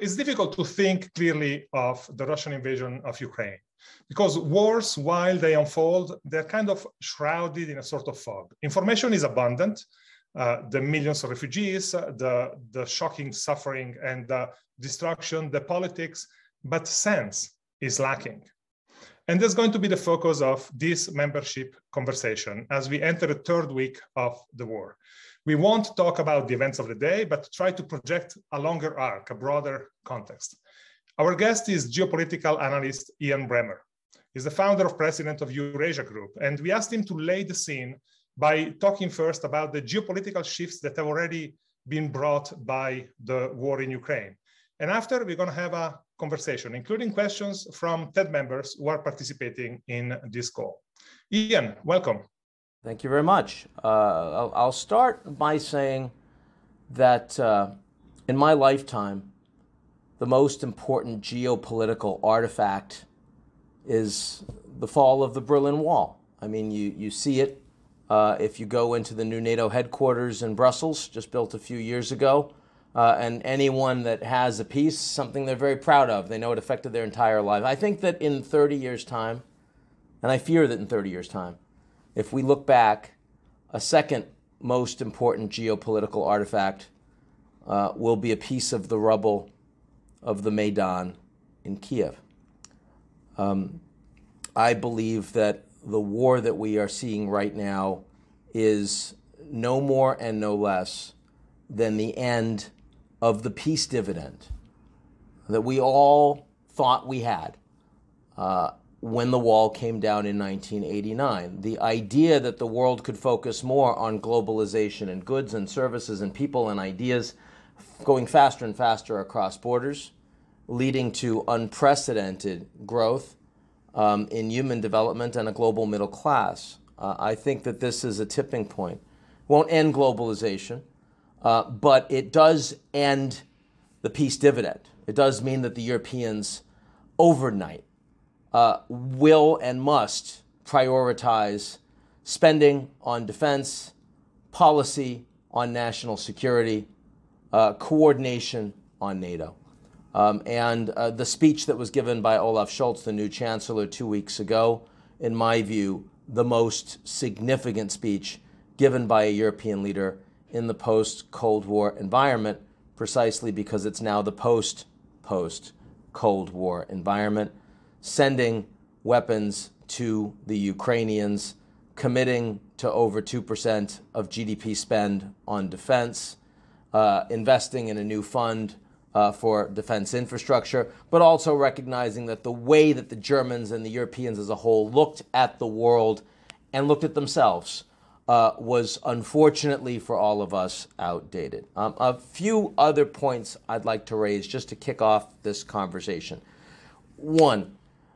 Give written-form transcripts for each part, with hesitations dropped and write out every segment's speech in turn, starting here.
it's difficult to think clearly of the Russian invasion of Ukraine because wars, while they unfold, they're kind of shrouded in a sort of fog. Information is abundant, the millions of refugees, the shocking suffering and the destruction, the politics, but sense is lacking. And that's going to be the focus of this membership conversation as we enter the third week of the war. We won't talk about the events of the day, but try to project a longer arc, a broader context. Our guest is geopolitical analyst Ian Bremmer. He's the founder and president of Eurasia Group, and we asked him to lay the scene by talking first about the geopolitical shifts that have already been brought by the war in Ukraine. And after, we're going to have a conversation, including questions from TED members who are participating in this call. Ian, welcome. Thank you very much. I'll start by saying that in my lifetime, the most important geopolitical artifact is the fall of the Berlin Wall. I mean, you see it if you go into the new NATO headquarters in Brussels, just built a few years ago. And anyone that has a piece, something they're very proud of, they know it affected their entire life. I think that in 30 years' time, and I fear that in 30 years' time, if we look back, a second most important geopolitical artifact will be a piece of the rubble of the Maidan in Kiev. I believe that the war that we are seeing right now is no more and no less than the end of the peace dividend that we all thought we had when the wall came down in 1989. The idea that the world could focus more on globalization and goods and services and people and ideas going faster and faster across borders, leading to unprecedented growth in human development and a global middle class. I think that this is a tipping point. Won't end globalization, but it does end the peace dividend. It does mean that the Europeans overnight will and must prioritize spending on defense, policy on national security, coordination on NATO. And the speech that was given by Olaf Scholz, the new chancellor, 2 weeks ago, in my view, the most significant speech given by a European leader in the post-Cold War environment, precisely because it's now the post-Cold War environment, sending weapons to the Ukrainians, committing to over 2% of GDP spend on defense, investing in a new fund for defense infrastructure, but also recognizing that the way that the Germans and the Europeans as a whole looked at the world and looked at themselves was unfortunately for all of us outdated. A few other points I'd like to raise just to kick off this conversation. One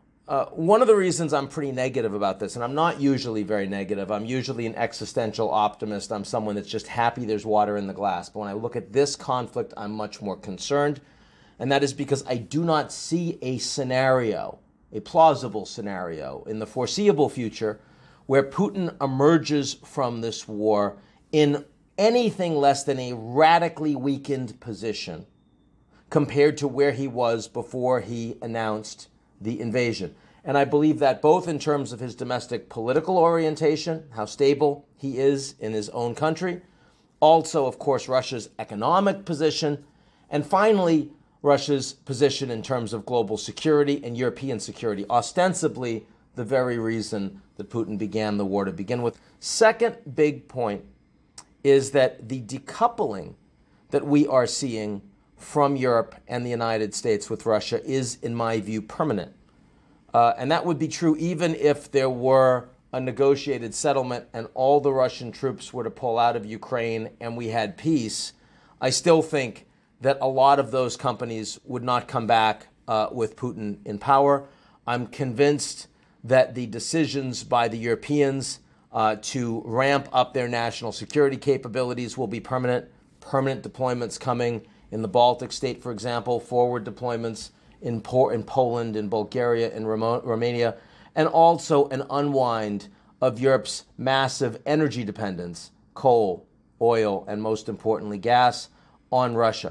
of the reasons I'm pretty negative about this, and I'm not usually very negative, I'm usually an existential optimist, I'm someone that's just happy there's water in the glass, but when I look at this conflict, I'm much more concerned, and that is because I do not see a scenario, a plausible scenario, in the foreseeable future where Putin emerges from this war in anything less than a radically weakened position compared to where he was before he announced the invasion. And I believe that both in terms of his domestic political orientation, how stable he is in his own country, also, of course, Russia's economic position, and finally, Russia's position in terms of global security and European security, ostensibly the very reason that Putin began the war to begin with. Second big point is that the decoupling that we are seeing from Europe and the United States with Russia is, in my view, permanent. And that would be true even if there were a negotiated settlement and all the Russian troops were to pull out of Ukraine and we had peace. I still think that a lot of those companies would not come back with Putin in power. I'm convinced that the decisions by the Europeans to ramp up their national security capabilities will be permanent deployments coming in the Baltic state, for example, forward deployments in Poland, in Bulgaria, in Romania, and also an unwind of Europe's massive energy dependence, coal, oil, and most importantly, gas, on Russia.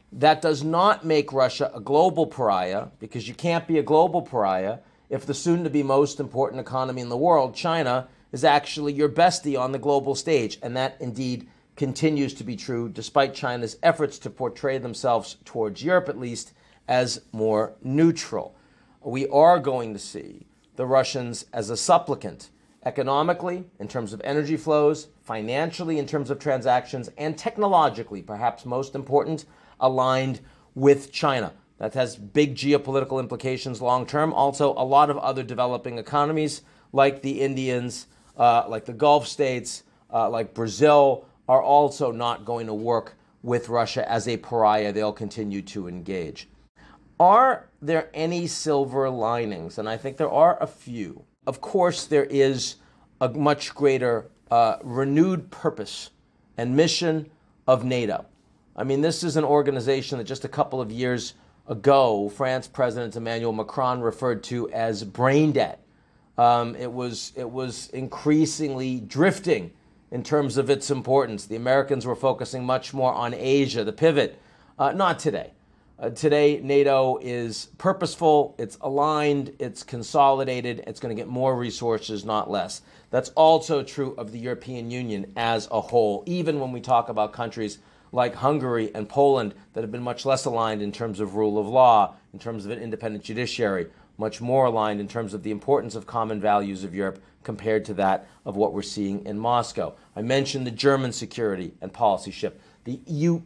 That does not make Russia a global pariah, because you can't be a global pariah if the soon-to-be most important economy in the world, China, is actually your bestie on the global stage. And that indeed continues to be true, despite China's efforts to portray themselves, towards Europe at least, as more neutral. We are going to see the Russians as a supplicant, economically, in terms of energy flows, financially, in terms of transactions, and technologically, perhaps most important, aligned with China. That has big geopolitical implications long term. Also, a lot of other developing economies, like the Indians, like the Gulf states, like Brazil, are also not going to work with Russia as a pariah. They'll continue to engage. Are there any silver linings? And I think there are a few. Of course, there is a much greater renewed purpose and mission of NATO. I mean, this is an organization that just a couple of years ago, France President Emmanuel Macron referred to as brain dead. It was increasingly drifting in terms of its importance. The Americans were focusing much more on Asia, the pivot. Not today. Today, NATO is purposeful, it's aligned, it's consolidated, it's going to get more resources, not less. That's also true of the European Union as a whole, even when we talk about countries like Hungary and Poland that have been much less aligned in terms of rule of law, in terms of an independent judiciary, much more aligned in terms of the importance of common values of Europe compared to that of what we're seeing in Moscow. I mentioned the German security and policy shift. The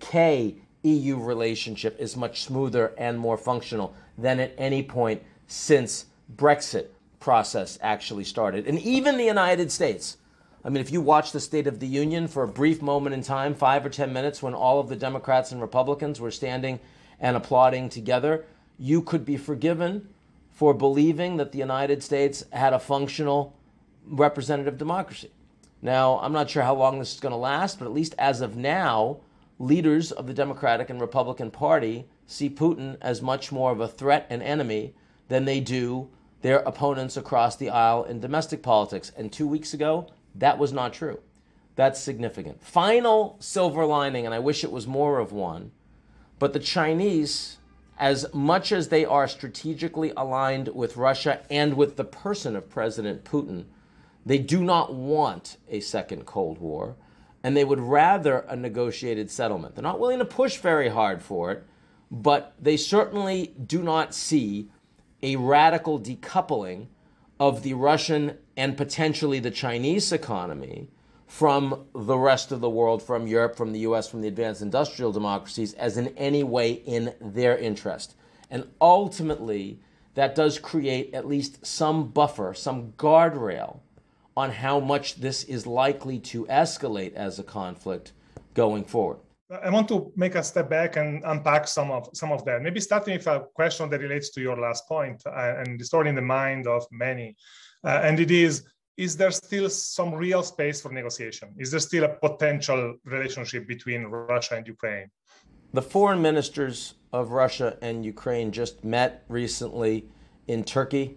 UK-EU relationship is much smoother and more functional than at any point since Brexit process actually started. And even the United States. I mean, if you watch the State of the Union for a brief moment in time, 5 or 10 minutes, when all of the Democrats and Republicans were standing and applauding together, you could be forgiven for believing that the United States had a functional representative democracy. Now, I'm not sure how long this is going to last, but at least as of now, leaders of the Democratic and Republican Party see Putin as much more of a threat and enemy than they do their opponents across the aisle in domestic politics. And 2 weeks ago, that was not true. That's significant. Final silver lining, and I wish it was more of one, but the Chinese, as much as they are strategically aligned with Russia and with the person of President Putin, they do not want a second Cold War, and they would rather a negotiated settlement. They're not willing to push very hard for it, but they certainly do not see a radical decoupling of the Russian and potentially the Chinese economy from the rest of the world, from Europe, from the US, from the advanced industrial democracies, as in any way in their interest. And ultimately, that does create at least some buffer, some guardrail on how much this is likely to escalate as a conflict going forward. I want to make a step back and unpack some of that. Maybe starting with a question that relates to your last point and the story in the mind of many. And it is there still some real space for negotiation? Is there still a potential relationship between Russia and Ukraine? The foreign ministers of Russia and Ukraine just met recently in Turkey.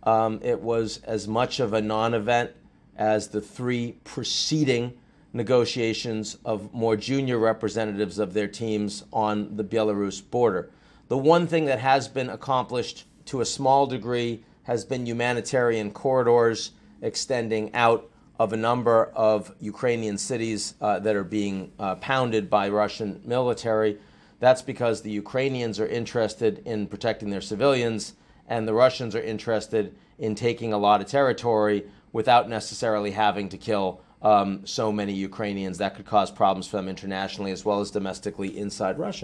It was as much of a non-event as the three preceding negotiations of more junior representatives of their teams on the Belarus border. The one thing that has been accomplished to a small degree has been humanitarian corridors extending out of a number of Ukrainian cities that are being pounded by Russian military. That's because the Ukrainians are interested in protecting their civilians, and the Russians are interested in taking a lot of territory without necessarily having to kill so many Ukrainians. That could cause problems for them internationally as well as domestically inside Russia.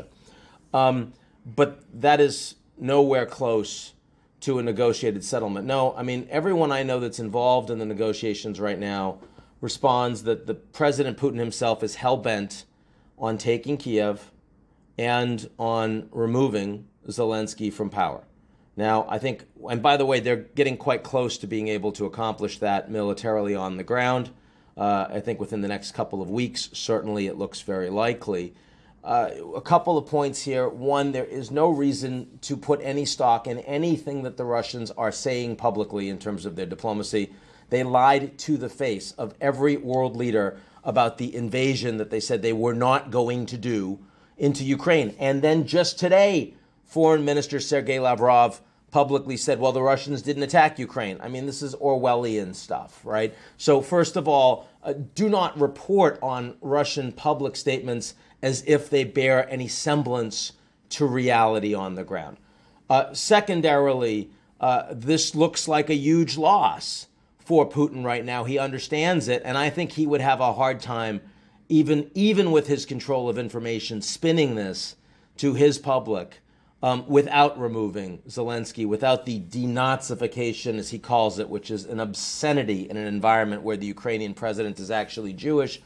But that is nowhere close to a negotiated settlement. No, I mean, everyone I know that's involved in the negotiations right now responds that the President Putin himself is hell-bent on taking Kiev and on removing Zelensky from power. Now, I think, and by the way, they're getting quite close to being able to accomplish that militarily on the ground. I think within the next couple of weeks, certainly it looks very likely. A couple of points here. One, there is no reason to put any stock in anything that the Russians are saying publicly in terms of their diplomacy. They lied to the face of every world leader about the invasion that they said they were not going to do into Ukraine. And then just today, Foreign Minister Sergei Lavrov publicly said, well, the Russians didn't attack Ukraine. I mean, this is Orwellian stuff, right? So first of all, do not report on Russian public statements as if they bear any semblance to reality on the ground. Secondarily, this looks like a huge loss for Putin right now. He understands it, and I think he would have a hard time, even with his control of information, spinning this to his public without removing Zelensky, without the denazification, as he calls it, which is an obscenity in an environment where the Ukrainian president is actually Jewish,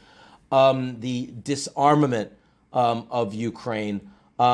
the disarmament of Ukraine,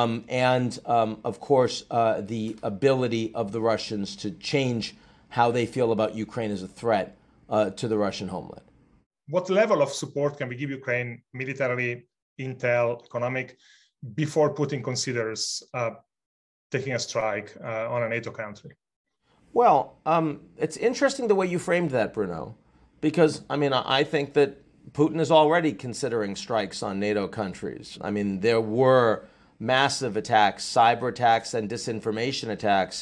and of course, the ability of the Russians to change how they feel about Ukraine as a threat to the Russian homeland. What level of support can we give Ukraine militarily, intel, economic, before Putin considers taking a strike on a NATO country? Well, it's interesting the way you framed that, Bruno, because, I mean, I think that Putin is already considering strikes on NATO countries. I mean, there were massive attacks, cyber attacks and disinformation attacks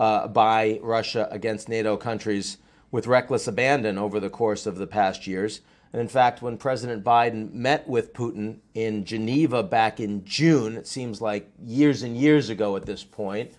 by Russia against NATO countries with reckless abandon over the course of the past years. And in fact, when President Biden met with Putin in Geneva back in June, it seems like years and years ago at this point,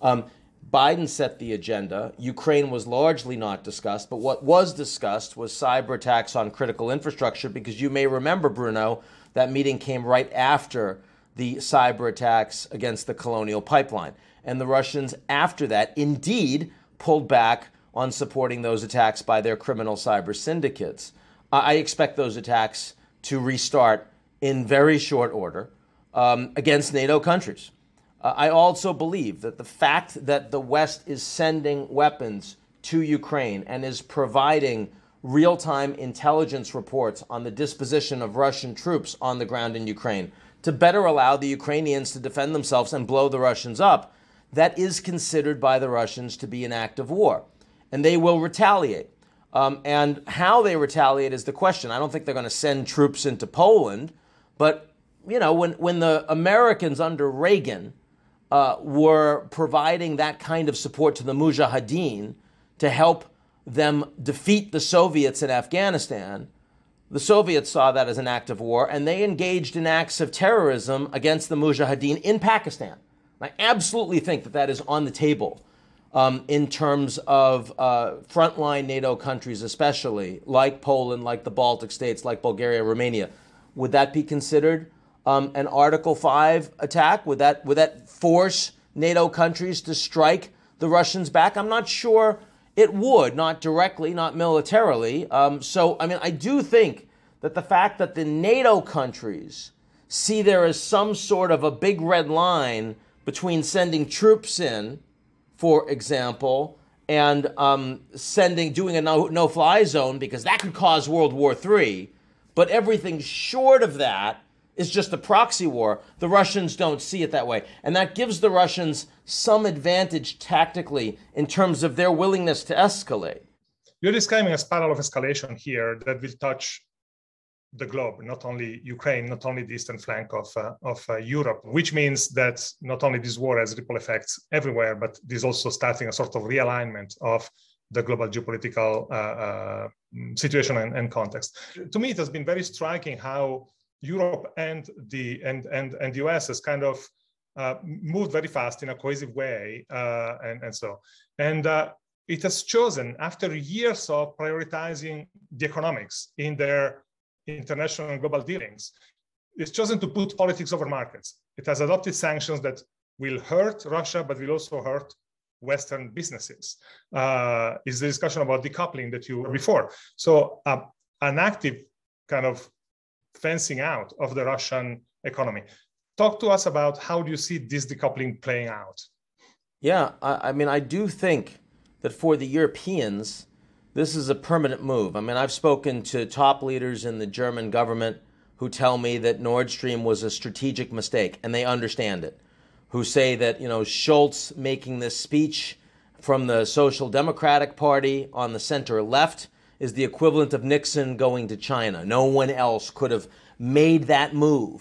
Biden set the agenda. Ukraine was largely not discussed, but what was discussed was cyber attacks on critical infrastructure, because you may remember, Bruno, that meeting came right after the cyber attacks against the Colonial Pipeline. And the Russians, after that, indeed pulled back on supporting those attacks by their criminal cyber syndicates. I expect those attacks to restart in very short order against NATO countries. I also believe that the fact that the West is sending weapons to Ukraine and is providing real-time intelligence reports on the disposition of Russian troops on the ground in Ukraine to better allow the Ukrainians to defend themselves and blow the Russians up, that is considered by the Russians to be an act of war. And they will retaliate. And how they retaliate is the question. I don't think they're going to send troops into Poland. But, you know, when the Americans under Reagan were providing that kind of support to the Mujahideen to help them defeat the Soviets in Afghanistan, the Soviets saw that as an act of war, and they engaged in acts of terrorism against the Mujahideen in Pakistan. I absolutely think that that is on the table in terms of frontline NATO countries, especially like Poland, like the Baltic states, like Bulgaria, Romania. Would that be considered an Article 5 attack? Would that force NATO countries to strike the Russians back? I'm not sure it would, not directly, not militarily. So, I mean, I do think that the fact that the NATO countries see there as some sort of a big red line between sending troops in, for example, and doing a no-fly zone, because that could cause World War III, but everything short of that is just a proxy war. The Russians don't see it that way. And that gives the Russians some advantage tactically in terms of their willingness to escalate. You're describing a spiral of escalation here that will touch the globe, not only Ukraine, not only the eastern flank of Europe, which means that not only this war has ripple effects everywhere, but this is also starting a sort of realignment of the global geopolitical situation and context. To me, it has been very striking how Europe and the US has kind of moved very fast in a cohesive way, and it has chosen, after years of prioritizing the economics in their international and global dealings, it's chosen to put politics over markets. It has adopted sanctions that will hurt Russia, but will also hurt Western businesses. Is the discussion about decoupling that you were before. So an active kind of fencing out of the Russian economy. Talk to us about how do you see this decoupling playing out? Yeah, I mean, I do think that for the Europeans, this is a permanent move. I mean, I've spoken to top leaders in the German government who tell me that Nord Stream was a strategic mistake, and they understand it, who say that, you know, Scholz making this speech from the Social Democratic Party on the center left is the equivalent of Nixon going to China. No one else could have made that move.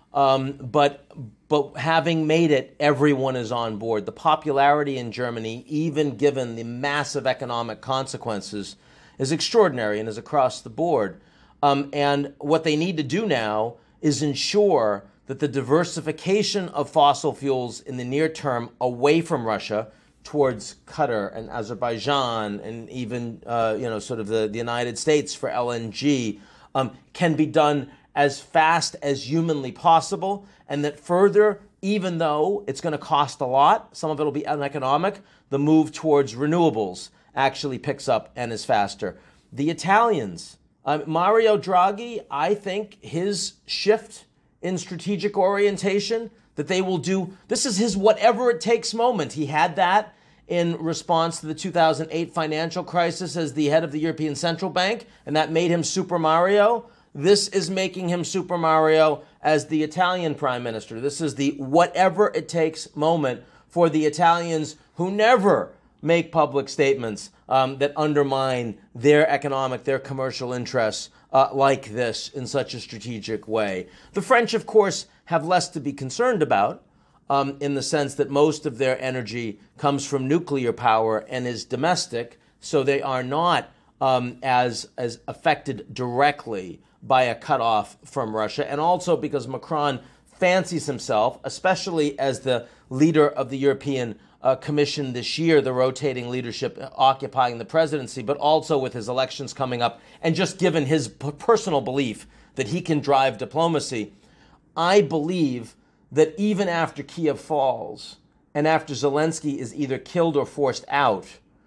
But having made it, everyone is on board. The popularity in Germany, even given the massive economic consequences, is extraordinary and is across the board. And what they need to do now is ensure that the diversification of fossil fuels in the near term away from Russia towards Qatar and Azerbaijan and even sort of the United States for LNG can be done as fast as humanly possible, and that further, even though it's going to cost a lot, some of it will be uneconomic, the move towards renewables actually picks up and is faster. The Italians, Mario Draghi, I think his shift in strategic orientation, that they will do, this is his whatever it takes moment. He had that in response to the 2008 financial crisis as the head of the European Central Bank, and that made him Super Mario. This is making him Super Mario as the Italian prime minister. This is the whatever it takes moment for the Italians, who never make public statements that undermine their economic, their commercial interests like this in such a strategic way. The French, of course, have less to be concerned about in the sense that most of their energy comes from nuclear power and is domestic, so they are not as affected directly by a cutoff from Russia, and also because Macron fancies himself, especially as the leader of the European Commission this year, the rotating leadership occupying the presidency, but also with his elections coming up, and just given his personal belief that he can drive diplomacy. I believe that even after Kiev falls and after Zelensky is either killed or forced out,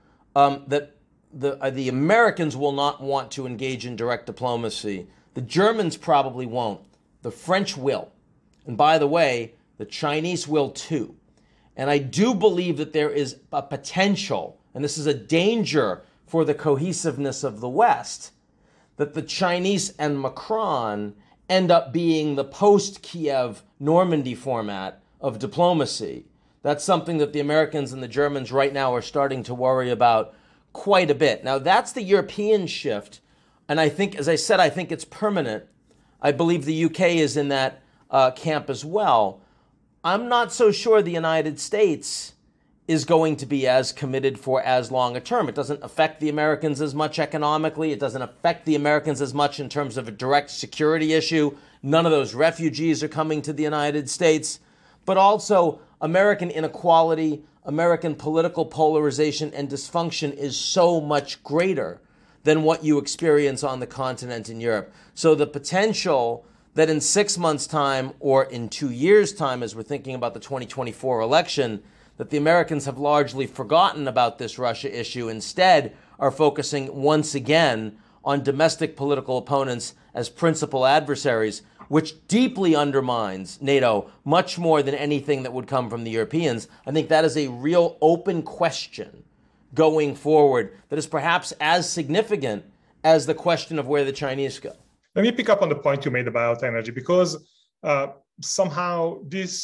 that the Americans will not want to engage in direct diplomacy. The Germans probably won't. The French will. And by the way, the Chinese will too. And I do believe that there is a potential, and this is a danger for the cohesiveness of the West, that the Chinese and Macron end up being the post-Kiev Normandy format of diplomacy. That's something that the Americans and the Germans right now are starting to worry about quite a bit. Now, that's the European shift. And I think, as I said, I think it's permanent. I believe the UK is in that camp as well. I'm not so sure the United States is going to be as committed for as long a term. It doesn't affect the Americans as much economically. It doesn't affect the Americans as much in terms of a direct security issue. None of those refugees are coming to the United States. But also, American inequality, American political polarization and dysfunction is so much greater than what you experience on the continent in Europe. So the potential that in 6 months' time or in 2 years' time, as we're thinking about the 2024 election, that the Americans have largely forgotten about this Russia issue, instead are focusing once again on domestic political opponents as principal adversaries, which deeply undermines NATO much more than anything that would come from the Europeans. I think that is a real open question going forward that is perhaps as significant as the question of where the Chinese go. Let me pick up on the point you made about energy, because somehow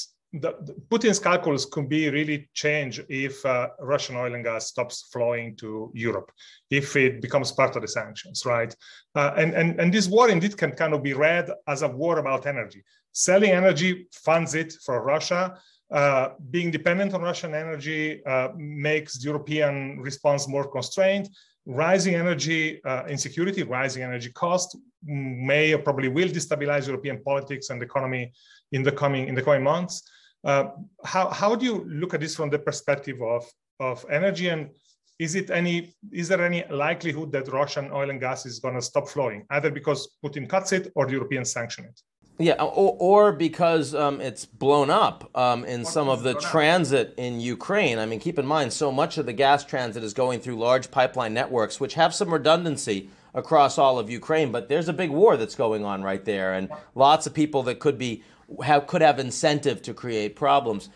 Putin's calculus could be really changed if Russian oil and gas stops flowing to Europe, if it becomes part of the sanctions, right? And this war indeed can kind of be read as a war about energy. Selling energy funds it for Russia. Being dependent on Russian energy makes the European response more constrained. Rising energy insecurity, rising energy cost may or probably will destabilize European politics and economy in the coming months. How do you look at this from the perspective of energy, and is there any likelihood that Russian oil and gas is going to stop flowing, either because Putin cuts it or the Europeans sanction it? Yeah, or because it's blown up in some of the transit in Ukraine. I mean, keep in mind, so much of the gas transit is going through large pipeline networks, which have some redundancy across all of Ukraine. But there's a big war that's going on right there, and lots of people that could have incentive to create problems.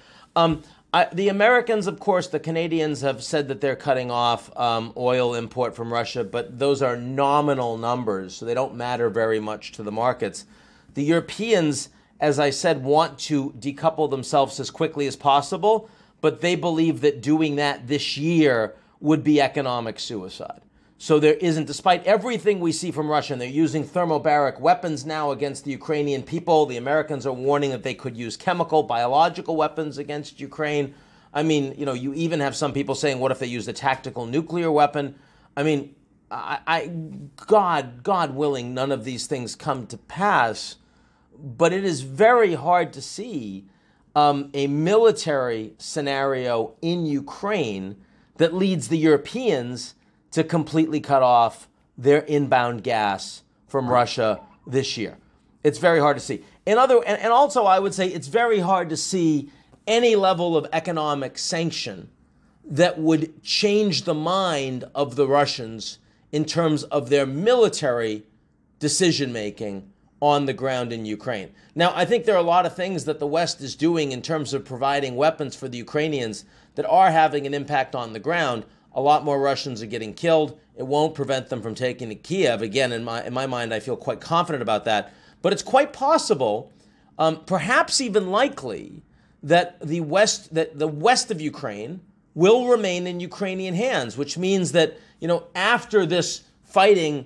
The Americans, of course, the Canadians have said that they're cutting off oil import from Russia, but those are nominal numbers, so they don't matter very much to the markets. The Europeans, as I said, want to decouple themselves as quickly as possible, but they believe that doing that this year would be economic suicide. So there isn't, despite everything we see from Russia, and they're using thermobaric weapons now against the Ukrainian people. The Americans are warning that they could use chemical, biological weapons against Ukraine. I mean, you even have some people saying, what if they used a tactical nuclear weapon? I mean, God willing, none of these things come to pass. But it is very hard to see a military scenario in Ukraine that leads the Europeans to completely cut off their inbound gas from Russia this year. It's very hard to see. And also I would say it's very hard to see any level of economic sanction that would change the mind of the Russians in terms of their military decision-making on the ground in Ukraine. Now, I think there are a lot of things that the West is doing in terms of providing weapons for the Ukrainians that are having an impact on the ground. A lot more Russians are getting killed. It won't prevent them from taking Kiev. Again, in my mind, I feel quite confident about that. But it's quite possible, perhaps even likely, that the west of Ukraine will remain in Ukrainian hands, which means that after this fighting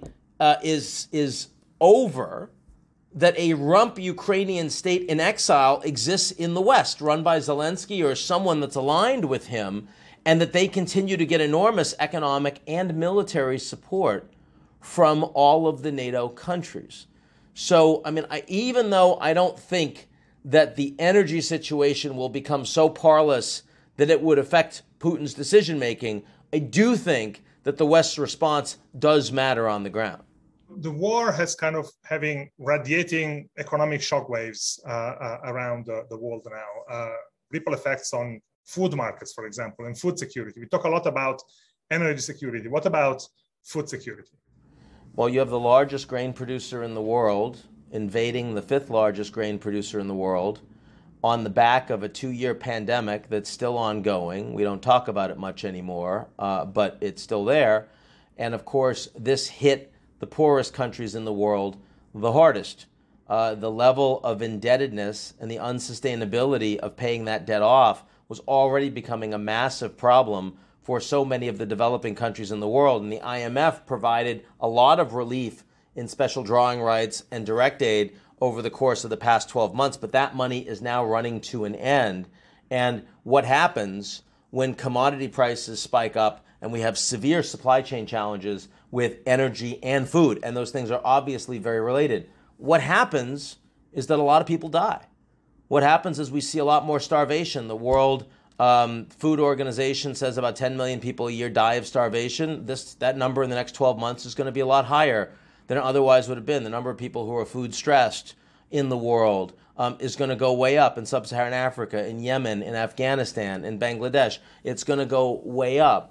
is over, that a rump Ukrainian state in exile exists in the West, run by Zelensky or someone that's aligned with him, and that they continue to get enormous economic and military support from all of the NATO countries. So, even though I don't think that the energy situation will become so parlous that it would affect Putin's decision-making, I do think that the West's response does matter on the ground. The war has kind of having radiating economic shockwaves around the world now. Ripple effects on food markets, for example, and food security. We talk a lot about energy security. What about food security? Well, you have the largest grain producer in the world invading the fifth largest grain producer in the world on the back of a 2-year pandemic that's still ongoing. We don't talk about it much anymore, but it's still there. And of course, this hit the poorest countries in the world the hardest. The level of indebtedness and the unsustainability of paying that debt off was already becoming a massive problem for so many of the developing countries in the world. And the IMF provided a lot of relief in special drawing rights and direct aid over the course of the past 12 months, but that money is now running to an end. And what happens when commodity prices spike up and we have severe supply chain challenges with energy and food, and those things are obviously very related? What happens is that a lot of people die. What happens is we see a lot more starvation. The World Food Organization says about 10 million people a year die of starvation. That number in the next 12 months is going to be a lot higher than it otherwise would have been. The number of people who are food stressed in the world is going to go way up in sub-Saharan Africa, in Yemen, in Afghanistan, in Bangladesh. It's going to go way up.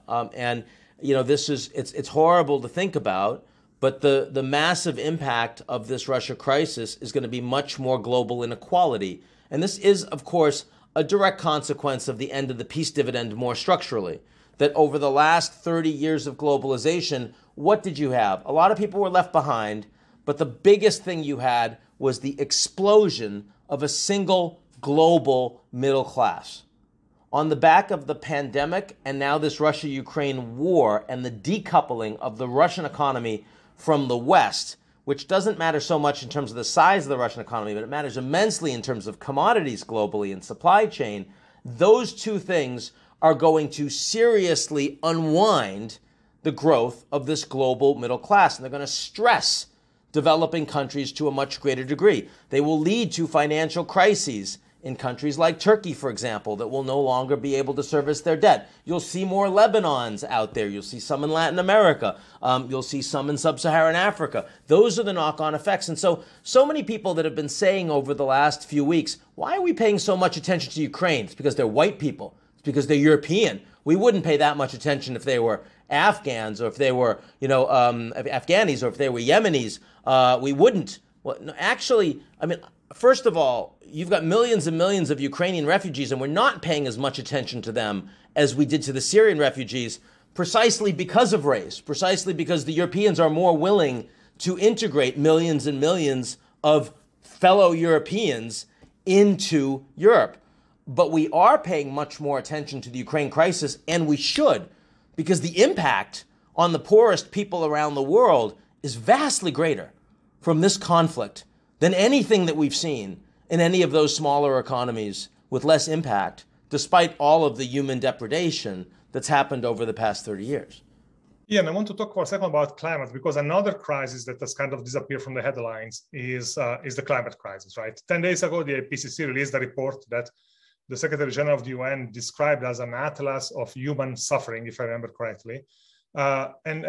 It's horrible to think about, but the massive impact of this Russia crisis is going to be much more global inequality. And this is, of course, a direct consequence of the end of the peace dividend more structurally. That over the last 30 years of globalization, what did you have? A lot of people were left behind, but the biggest thing you had was the explosion of a single global middle class. On the back of the pandemic and now this Russia-Ukraine war and the decoupling of the Russian economy from the West, which doesn't matter so much in terms of the size of the Russian economy, but it matters immensely in terms of commodities globally and supply chain, those two things are going to seriously unwind the growth of this global middle class. And they're going to stress developing countries to a much greater degree. They will lead to financial crises in countries like Turkey, for example, that will no longer be able to service their debt. You'll see more Lebanons out there. You'll see some in Latin America. You'll see some in sub-Saharan Africa. Those are the knock-on effects. And so many people that have been saying over the last few weeks, why are we paying so much attention to Ukraine? It's because they're white people. It's because they're European. We wouldn't pay that much attention if they were Afghans or if they were, Afghanis or if they were Yemenis. We wouldn't. Well, no, actually, first of all, you've got millions and millions of Ukrainian refugees, and we're not paying as much attention to them as we did to the Syrian refugees, precisely because of race, precisely because the Europeans are more willing to integrate millions and millions of fellow Europeans into Europe. But we are paying much more attention to the Ukraine crisis, and we should, because the impact on the poorest people around the world is vastly greater from this conflict than anything that we've seen in any of those smaller economies with less impact, despite all of the human depredation that's happened over the past 30 years. Yeah, and I want to talk for a second about climate, because another crisis that has kind of disappeared from the headlines is the climate crisis, right? 10 days ago, the IPCC released a report that the Secretary General of the UN described as an atlas of human suffering, if I remember correctly. And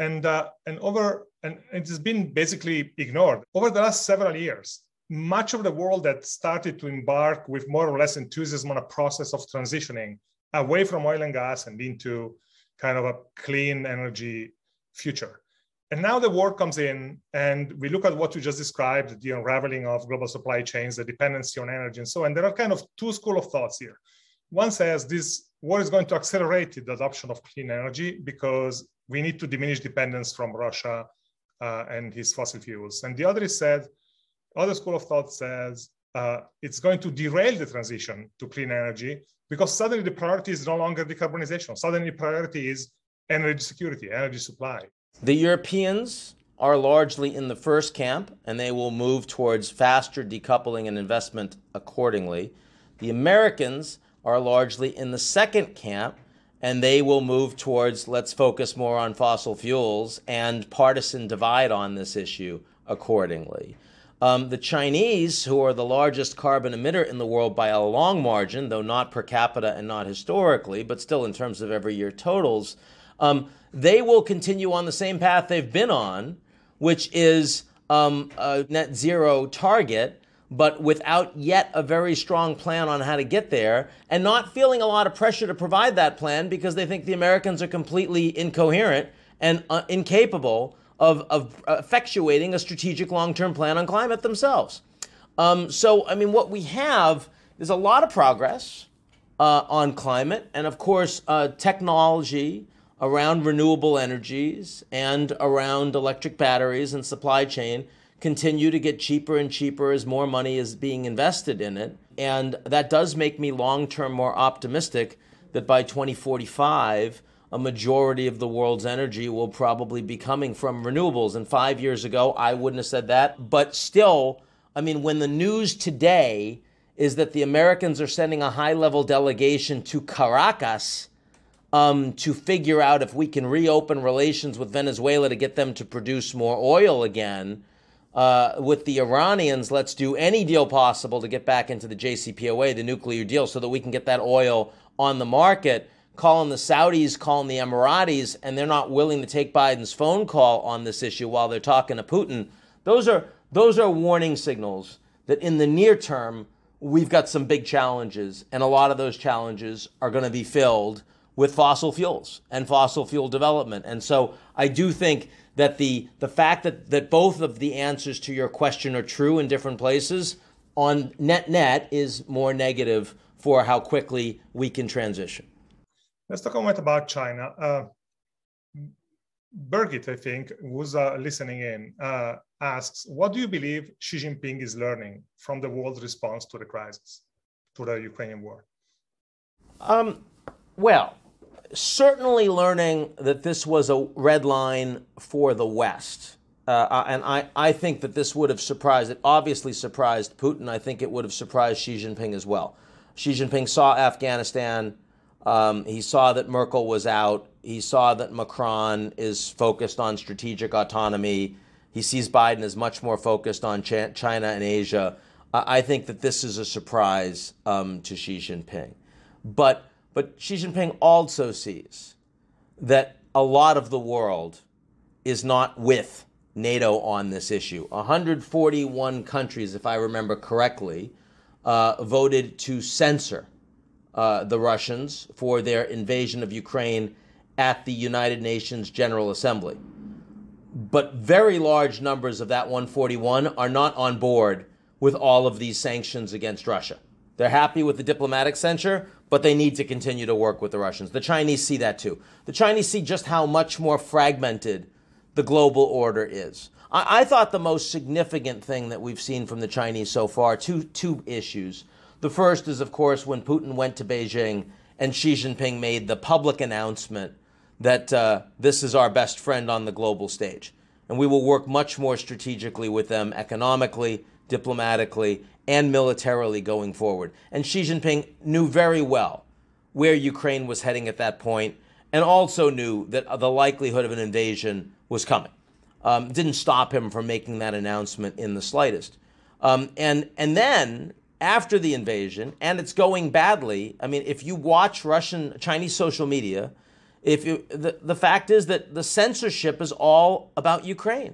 it has been basically ignored. Over the last several years, much of the world that started to embark with more or less enthusiasm on a process of transitioning away from oil and gas and into kind of a clean energy future. And now the war comes in, and we look at what you just described, the unraveling of global supply chains, the dependency on energy, and so on. There are kind of two schools of thoughts here. One says this war is going to accelerate the adoption of clean energy because we need to diminish dependence from Russia and his fossil fuels. And the other school of thought says it's going to derail the transition to clean energy because suddenly the priority is no longer decarbonization. Suddenly the priority is energy security, energy supply. The Europeans are largely in the first camp, and they will move towards faster decoupling and investment accordingly. The Americans are largely in the second camp, and they will move towards let's focus more on fossil fuels and partisan divide on this issue accordingly. The Chinese, who are the largest carbon emitter in the world by a long margin, though not per capita and not historically, but still in terms of every year totals, they will continue on the same path they've been on, which is a net zero target, but without yet a very strong plan on how to get there, and not feeling a lot of pressure to provide that plan because they think the Americans are completely incoherent and incapable of effectuating a strategic long-term plan on climate themselves. What we have is a lot of progress on climate, and of course, technology around renewable energies and around electric batteries and supply chain continue to get cheaper and cheaper as more money is being invested in it. And that does make me long-term more optimistic that by 2045, a majority of the world's energy will probably be coming from renewables. And 5 years ago, I wouldn't have said that. But still, when the news today is that the Americans are sending a high-level delegation to Caracas to figure out if we can reopen relations with Venezuela to get them to produce more oil again, with the Iranians, let's do any deal possible to get back into the JCPOA, the nuclear deal, so that we can get that oil on the market. Calling the Saudis, calling the Emiratis, and they're not willing to take Biden's phone call on this issue while they're talking to Putin. Those are warning signals that in the near term, we've got some big challenges, and a lot of those challenges are going to be filled with fossil fuels and fossil fuel development. And so I do think that the fact that both of the answers to your question are true in different places on net is more negative for how quickly we can transition. Let's talk a moment about China. Birgit, I think, who's listening in, asks, what do you believe Xi Jinping is learning from the world's response to the crisis, to the Ukrainian war? Certainly learning that this was a red line for the West. And I think that this would have obviously surprised Putin. I think it would have surprised Xi Jinping as well. Xi Jinping saw Afghanistan. He saw that Merkel was out. He saw that Macron is focused on strategic autonomy. He sees Biden as much more focused on China and Asia. I think that this is a surprise to Xi Jinping. But Xi Jinping also sees that a lot of the world is not with NATO on this issue. 141 countries, if I remember correctly, voted to censor the Russians for their invasion of Ukraine at the United Nations General Assembly. But very large numbers of that 141 are not on board with all of these sanctions against Russia. They're happy with the diplomatic censure, but they need to continue to work with the Russians. The Chinese see that too. The Chinese see just how much more fragmented the global order is. I thought the most significant thing that we've seen from the Chinese so far, two issues. The first is, of course, when Putin went to Beijing and Xi Jinping made the public announcement that this is our best friend on the global stage. And we will work much more strategically with them economically, diplomatically, and militarily going forward. And Xi Jinping knew very well where Ukraine was heading at that point, and also knew that the likelihood of an invasion was coming. Didn't stop him from making that announcement in the slightest. And then, after the invasion, and it's going badly, I mean, if you watch Chinese social media, the fact is that the censorship is all about Ukraine.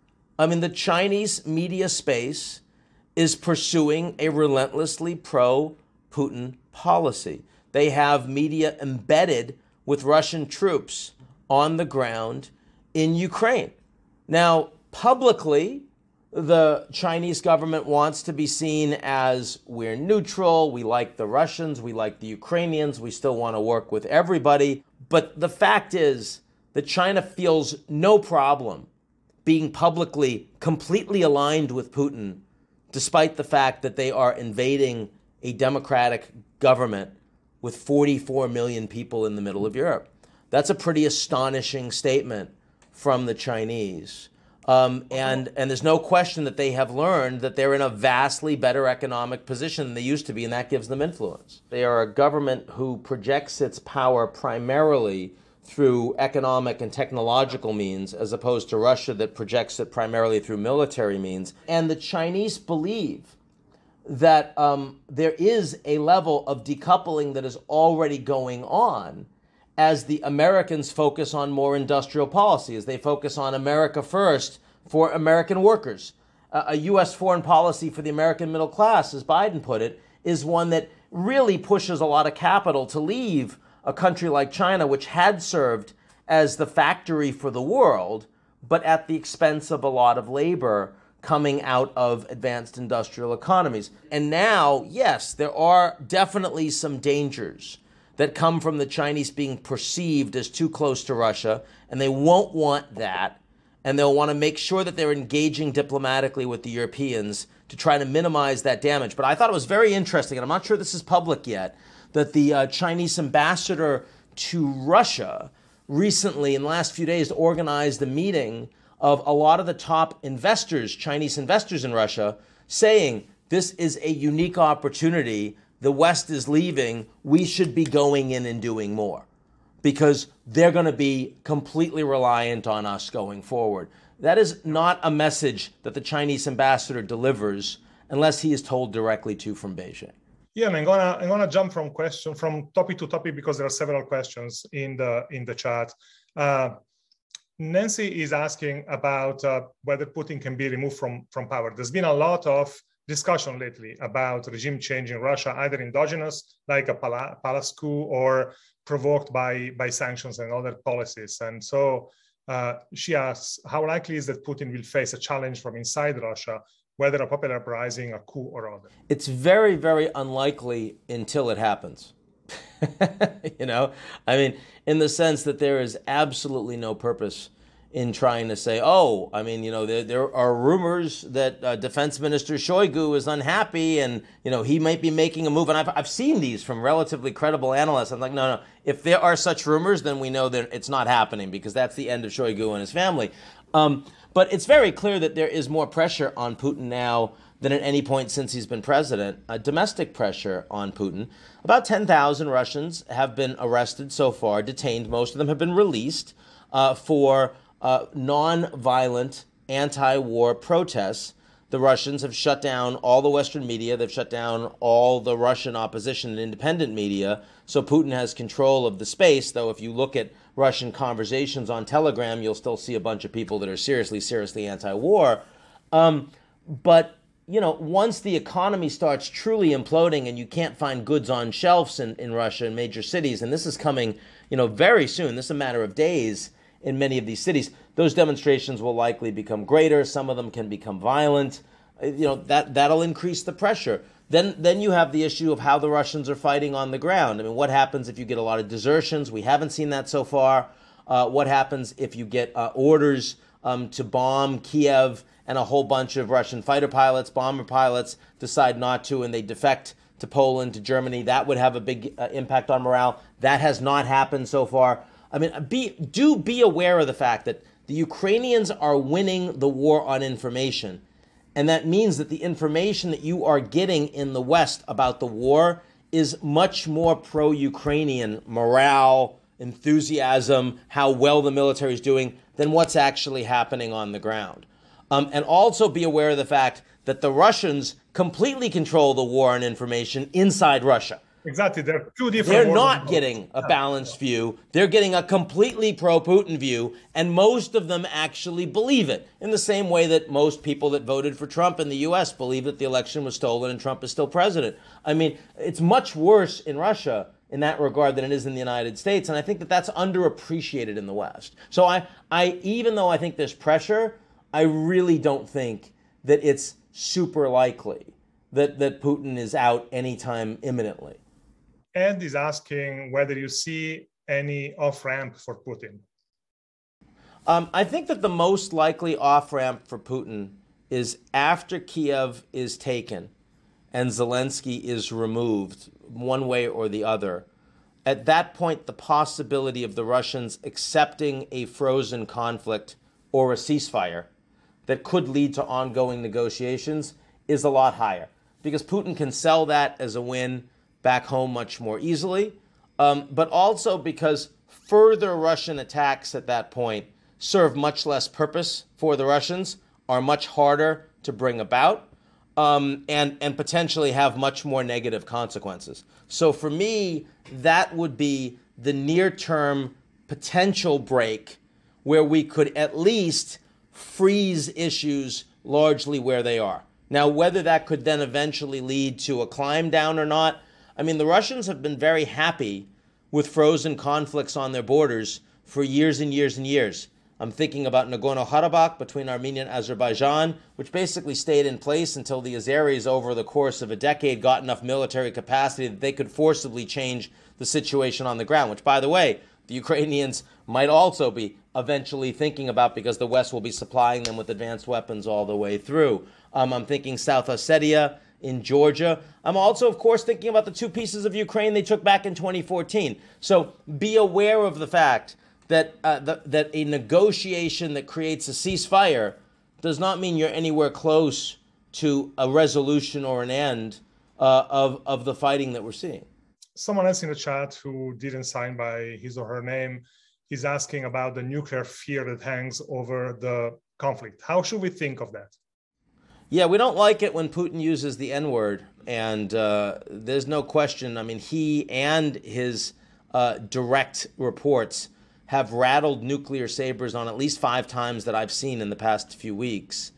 I mean, the Chinese media space is pursuing a relentlessly pro-Putin policy. They have media embedded with Russian troops on the ground in Ukraine. Now, publicly, the Chinese government wants to be seen as we're neutral, we like the Russians, we like the Ukrainians, we still want to work with everybody. But the fact is that China feels no problem being publicly completely aligned with Putin, despite the fact that they are invading a democratic government with 44 million people in the middle of Europe. That's a pretty astonishing statement from the Chinese. And there's no question that they have learned that they're in a vastly better economic position than they used to be, and that gives them influence. They are a government who projects its power primarily through economic and technological means, as opposed to Russia that projects it primarily through military means. And the Chinese believe that there is a level of decoupling that is already going on as the Americans focus on more industrial policy, as they focus on America first for American workers. A U.S. foreign policy for the American middle class, as Biden put it, is one that really pushes a lot of capital to leave a country like China, which had served as the factory for the world, but at the expense of a lot of labor coming out of advanced industrial economies. And now, yes, there are definitely some dangers that come from the Chinese being perceived as too close to Russia, and they won't want that, and they'll want to make sure that they're engaging diplomatically with the Europeans to try to minimize that damage. But I thought it was very interesting, and I'm not sure this is public yet, that the Chinese ambassador to Russia recently, in the last few days, organized a meeting of a lot of the top investors, Chinese investors in Russia, saying this is a unique opportunity. The West is leaving. We should be going in and doing more because they're going to be completely reliant on us going forward. That is not a message that the Chinese ambassador delivers unless he is told directly to from Beijing. Yeah, and I'm gonna jump from topic to topic because there are several questions in the chat. Nancy is asking about whether Putin can be removed from power. There's been a lot of discussion lately about regime change in Russia, either endogenous, like a palace coup, or provoked by sanctions and other policies. And so she asks, how likely is that Putin will face a challenge from inside Russia, whether a popular uprising, a coup, or other? It's very, very unlikely until it happens. You know, I mean, in the sense that there is absolutely no purpose in trying to say, oh, I mean, you know, there are rumors that Defense Minister Shoigu is unhappy and, you know, he might be making a move. And I've seen these from relatively credible analysts. I'm like, no. If there are such rumors, then we know that it's not happening because that's the end of Shoigu and his family. But it's very clear that there is more pressure on Putin now than at any point since he's been president, domestic pressure on Putin. About 10,000 Russians have been arrested so far, detained. Most of them have been released for non-violent anti-war protests. The Russians have shut down all the Western media. They've shut down all the Russian opposition and independent media. So Putin has control of the space, though if you look at Russian conversations on Telegram, you'll still see a bunch of people that are seriously anti-war. But, you know, once the economy starts truly imploding and you can't find goods on shelves in Russia in major cities, and this is coming, you know, very soon, this is a matter of days in many of these cities, those demonstrations will likely become greater. Some of them can become violent. You know, that'll increase the pressure. Then you have the issue of how the Russians are fighting on the ground. I mean, what happens if you get a lot of desertions? We haven't seen that so far. What happens if you get orders to bomb Kiev and a whole bunch of Russian fighter pilots, bomber pilots decide not to and they defect to Poland, to Germany? That would have a big impact on morale. That has not happened so far. I mean, be aware of the fact that the Ukrainians are winning the war on information. And that means that the information that you are getting in the West about the war is much more pro-Ukrainian morale, enthusiasm, how well the military is doing than what's actually happening on the ground. And also be aware of the fact that the Russians completely control the war on information inside Russia. Exactly. They're two different. They're not getting a balanced view. They're getting a completely pro-Putin view, and most of them actually believe it, in the same way that most people that voted for Trump in the U.S. believe that the election was stolen and Trump is still president. I mean, it's much worse in Russia in that regard than it is in the United States, and I think that that's underappreciated in the West. So I even though I think there's pressure, I really don't think that it's super likely that Putin is out anytime imminently. Ed is asking whether you see any off-ramp for Putin. I think that the most likely off-ramp for Putin is after Kiev is taken and Zelensky is removed one way or the other. At that point, the possibility of the Russians accepting a frozen conflict or a ceasefire that could lead to ongoing negotiations is a lot higher, because Putin can sell that as a win back home much more easily, but also because further Russian attacks at that point serve much less purpose for the Russians, are much harder to bring about, and potentially have much more negative consequences. So for me, that would be the near-term potential break where we could at least freeze issues largely where they are. Now, whether that could then eventually lead to a climb down or not, I mean, the Russians have been very happy with frozen conflicts on their borders for years and years and years. I'm thinking about Nagorno-Karabakh between Armenia and Azerbaijan, which basically stayed in place until the Azeris, over the course of a decade, got enough military capacity that they could forcibly change the situation on the ground, which, by the way, the Ukrainians might also be eventually thinking about, because the West will be supplying them with advanced weapons all the way through. I'm thinking South Ossetia in Georgia. I'm also, of course, thinking about the two pieces of Ukraine they took back in 2014. So be aware of the fact that that a negotiation that creates a ceasefire does not mean you're anywhere close to a resolution or an end of the fighting that we're seeing. Someone else in the chat who didn't sign by his or her name is asking about the nuclear fear that hangs over the conflict. How should we think of that? Yeah, we don't like it when Putin uses the N-word, and there's no question. I mean, he and his direct reports have rattled nuclear sabers on at least 5 times that I've seen in the past few weeks.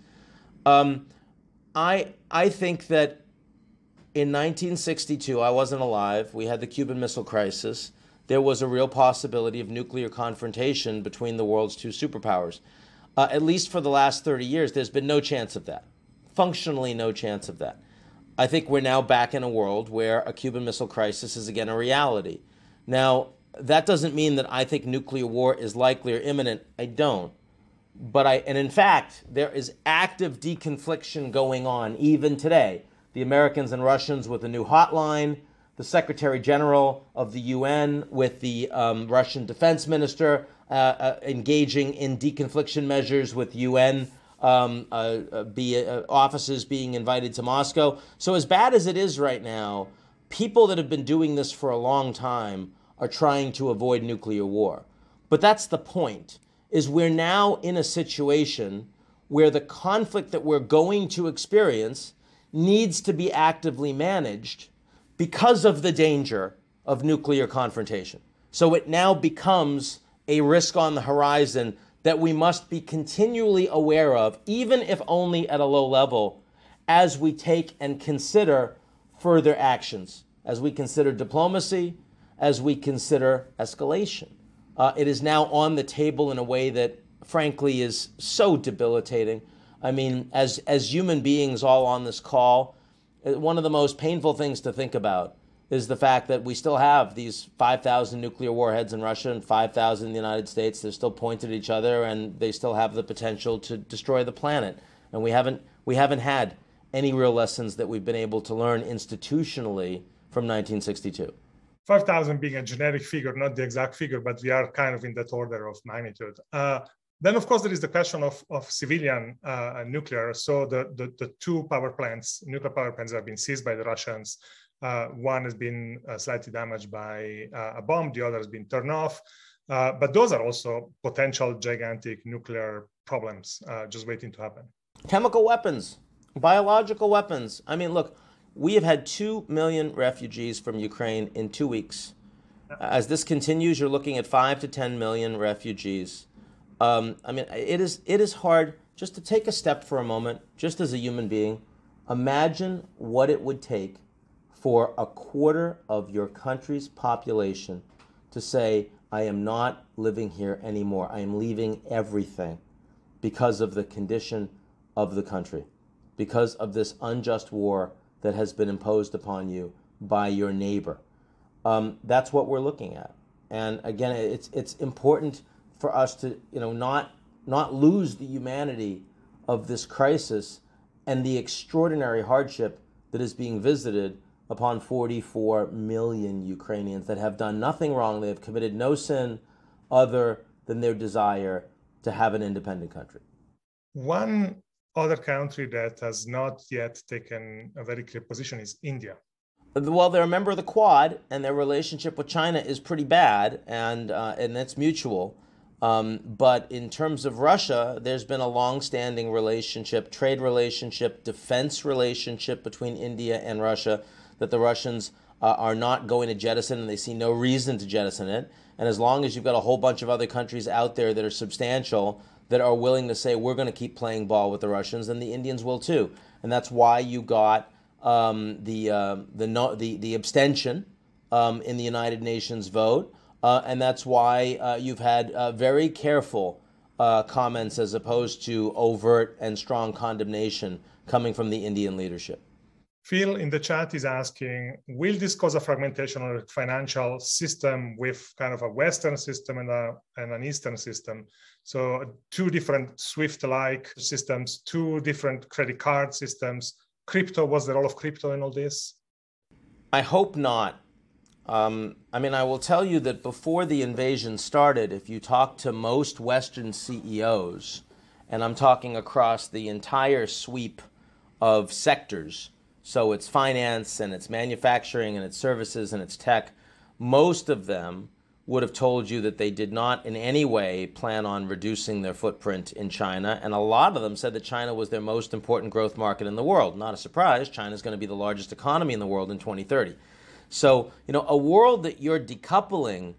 I think that in 1962, I wasn't alive. We had the Cuban Missile Crisis. There was a real possibility of nuclear confrontation between the world's two superpowers. At least for the last 30 years, there's been no chance of that. Functionally no chance of that. I think we're now back in a world where a Cuban Missile Crisis is again a reality. Now, that doesn't mean that I think nuclear war is likely or imminent. I don't. And in fact, there is active deconfliction going on even today. The Americans and Russians with a new hotline, the Secretary General of the UN with the Russian Defense Minister engaging in deconfliction measures with UN offices being invited to Moscow. So as bad as it is right now, people that have been doing this for a long time are trying to avoid nuclear war. But that's the point, is we're now in a situation where the conflict that we're going to experience needs to be actively managed because of the danger of nuclear confrontation. So it now becomes a risk on the horizon that we must be continually aware of, even if only at a low level, as we take and consider further actions, as we consider diplomacy, as we consider escalation. It is now on the table in a way that, frankly, is so debilitating. I mean, as human beings all on this call, one of the most painful things to think about is the fact that we still have these 5,000 nuclear warheads in Russia and 5,000 in the United States. They're still pointed at each other, and they still have the potential to destroy the planet. And we haven't had any real lessons that we've been able to learn institutionally from 1962. 5,000 being a generic figure, not the exact figure, but we are kind of in that order of magnitude. Then, of course, there is the question of civilian nuclear. So the two nuclear power plants that have been seized by the Russians. One has been slightly damaged by a bomb. The other has been turned off. But those are also potential gigantic nuclear problems just waiting to happen. Chemical weapons, biological weapons. I mean, look, we have had 2 million refugees from Ukraine in 2 weeks. As this continues, you're looking at 5 to 10 million refugees. I mean, it is hard just to take a step for a moment, just as a human being. Imagine what it would take for a quarter of your country's population to say, I am not living here anymore. I am leaving everything because of the condition of the country, because of this unjust war that has been imposed upon you by your neighbor. That's what we're looking at. And again, it's important for us to not lose the humanity of this crisis and the extraordinary hardship that is being visited upon 44 million Ukrainians that have done nothing wrong. They have committed no sin other than their desire to have an independent country. One other country that has not yet taken a very clear position is India. Well, they're a member of the Quad, and their relationship with China is pretty bad, and it's mutual. But in terms of Russia, there's been a long-standing relationship, trade relationship, defense relationship between India and Russia that the Russians are not going to jettison, and they see no reason to jettison it. And as long as you've got a whole bunch of other countries out there that are substantial, that are willing to say, we're going to keep playing ball with the Russians, then the Indians will too. And that's why you got the abstention in the United Nations vote. And that's why you've had very careful comments as opposed to overt and strong condemnation coming from the Indian leadership. Phil in the chat is asking, will this cause a fragmentation of the financial system with kind of a Western system and an Eastern system? So two different SWIFT-like systems, two different credit card systems. Crypto, what's the role of crypto in all this? I hope not. I mean, I will tell you that before the invasion started, if you talk to most Western CEOs, and I'm talking across the entire sweep of sectors, so it's finance and it's manufacturing and it's services and it's tech, most of them would have told you that they did not in any way plan on reducing their footprint in China. And a lot of them said that China was their most important growth market in the world. Not a surprise, China is going to be the largest economy in the world in 2030. So, a world that you're decoupling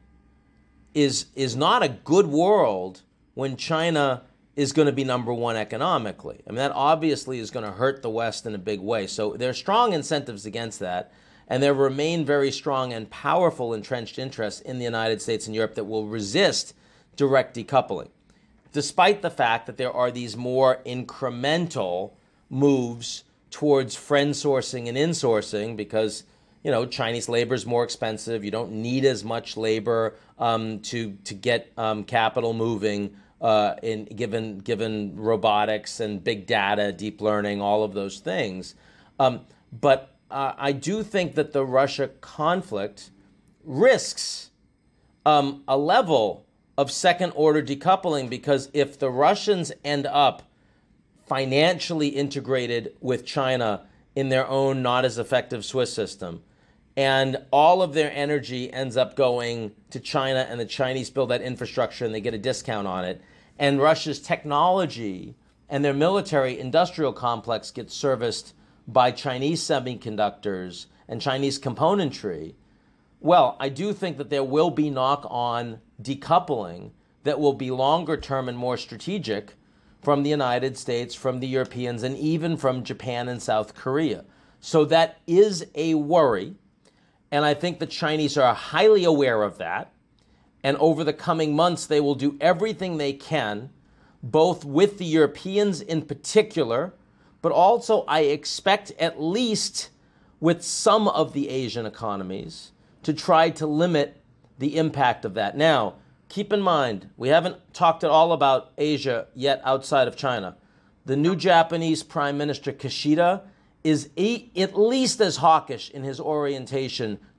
is not a good world when China is going to be number one economically. I mean, that obviously is going to hurt the West in a big way. So there are strong incentives against that, and there remain very strong and powerful entrenched interests in the United States and Europe that will resist direct decoupling, despite the fact that there are these more incremental moves towards friend sourcing and insourcing because Chinese labor is more expensive. You don't need as much labor to get capital moving in given robotics and big data, deep learning, all of those things. But I do think that the Russia conflict risks a level of second-order decoupling because if the Russians end up financially integrated with China in their own not as effective Swiss system, and all of their energy ends up going to China and the Chinese build that infrastructure and they get a discount on it, and Russia's technology and their military industrial complex gets serviced by Chinese semiconductors and Chinese componentry, well, I do think that there will be knock-on decoupling that will be longer term and more strategic from the United States, from the Europeans, and even from Japan and South Korea. So that is a worry, and I think the Chinese are highly aware of that. And over the coming months, they will do everything they can, both with the Europeans in particular, but also I expect at least with some of the Asian economies to try to limit the impact of that. Now, keep in mind, we haven't talked at all about Asia yet outside of China. The new Japanese Prime Minister Kishida is at least as hawkish in his orientation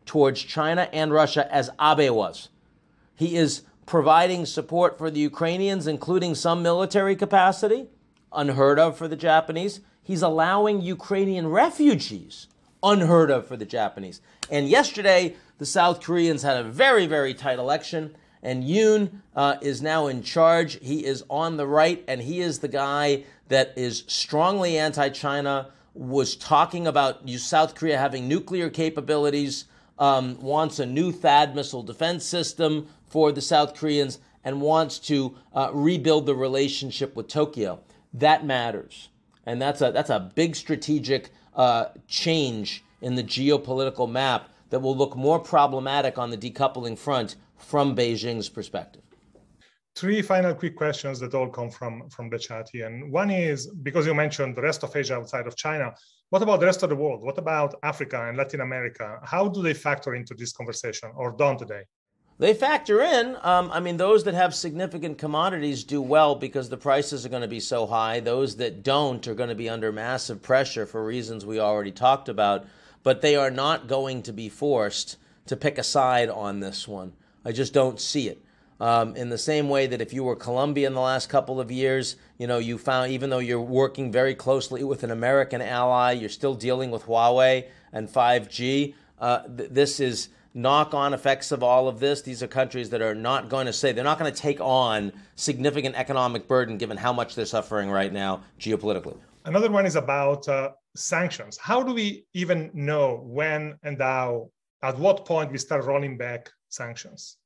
towards China and Russia as Abe was. He is providing support for the Ukrainians, including some military capacity, unheard of for the Japanese. He's allowing Ukrainian refugees, unheard of for the Japanese. And yesterday, the South Koreans had a very, very tight election, and Yoon is now in charge. He is on the right, and he is the guy that is strongly anti-China, was talking about South Korea having nuclear capabilities, wants a new THAAD missile defense system for the South Koreans, and wants to rebuild the relationship with Tokyo. That matters. And that's a big strategic change in the geopolitical map that will look more problematic on the decoupling front from Beijing's perspective. Three final quick questions that all come from the chat here. And one is, because you mentioned the rest of Asia outside of China, what about the rest of the world? What about Africa and Latin America? How do they factor into this conversation, or don't they? They factor in. Those that have significant commodities do well because the prices are going to be so high. Those that don't are going to be under massive pressure for reasons we already talked about. But they are not going to be forced to pick a side on this one. I just don't see it. In the same way that if you were Colombia in the last couple of years, you found, even though you're working very closely with an American ally, you're still dealing with Huawei and 5G. This is knock-on effects of all of this. These are countries that are not going to they're not going to take on significant economic burden given how much they're suffering right now geopolitically. Another one is about sanctions. How do we even know when and how, at what point we start rolling back sanctions?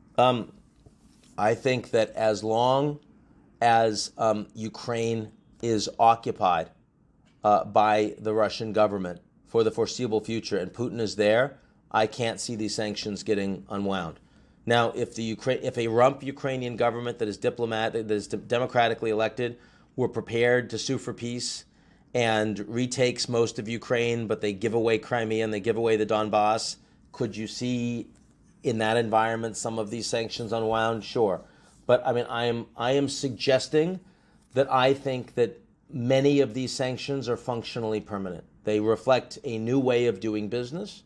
I think that as long as Ukraine is occupied by the Russian government for the foreseeable future and Putin is there, I can't see these sanctions getting unwound. Now, if a rump Ukrainian government that is democratically elected were prepared to sue for peace and retakes most of Ukraine, but they give away Crimea and they give away the Donbass, could you see in that environment some of these sanctions unwound? Sure. But I am suggesting that I think that many of these sanctions are functionally permanent. They reflect a new way of doing business.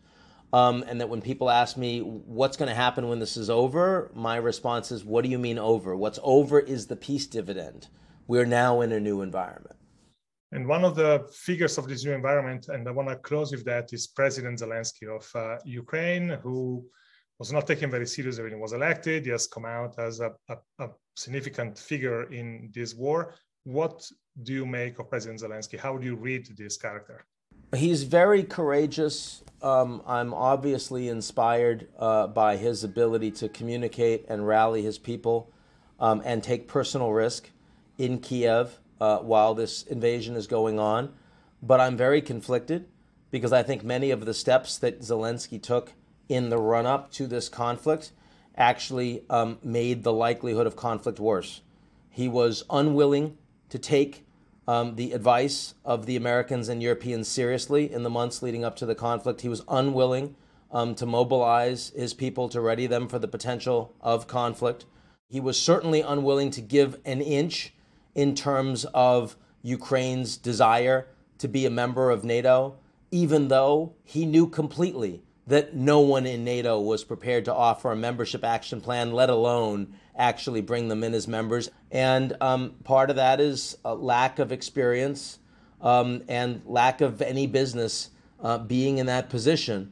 And that when people ask me what's going to happen when this is over, my response is, what do you mean over? What's over is the peace dividend. We're now in a new environment. And one of the figures of this new environment, and I want to close with that, is President Zelensky of Ukraine, who was not taken very seriously when he was elected. He has come out as a significant figure in this war. What do you make of President Zelensky? How do you read this character? He's very courageous. I'm obviously inspired by his ability to communicate and rally his people and take personal risk in Kiev while this invasion is going on. But I'm very conflicted because I think many of the steps that Zelensky took in the run-up to this conflict actually made the likelihood of conflict worse. He was unwilling to take the advice of the Americans and Europeans seriously in the months leading up to the conflict. He was unwilling to mobilize his people to ready them for the potential of conflict. He was certainly unwilling to give an inch in terms of Ukraine's desire to be a member of NATO, even though he knew completely that no one in NATO was prepared to offer a membership action plan, let alone actually bring them in as members. And part of that is a lack of experience and lack of any business being in that position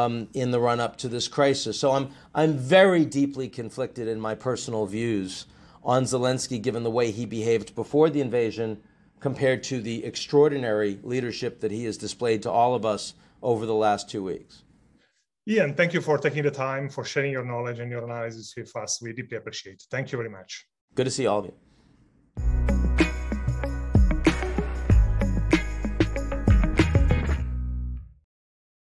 in the run-up to this crisis. So I'm very deeply conflicted in my personal views on Zelensky, given the way he behaved before the invasion compared to the extraordinary leadership that he has displayed to all of us over the last 2 weeks. Ian, thank you for taking the time, for sharing your knowledge and your analysis with us. We deeply appreciate it. Thank you very much. Good to see all of you.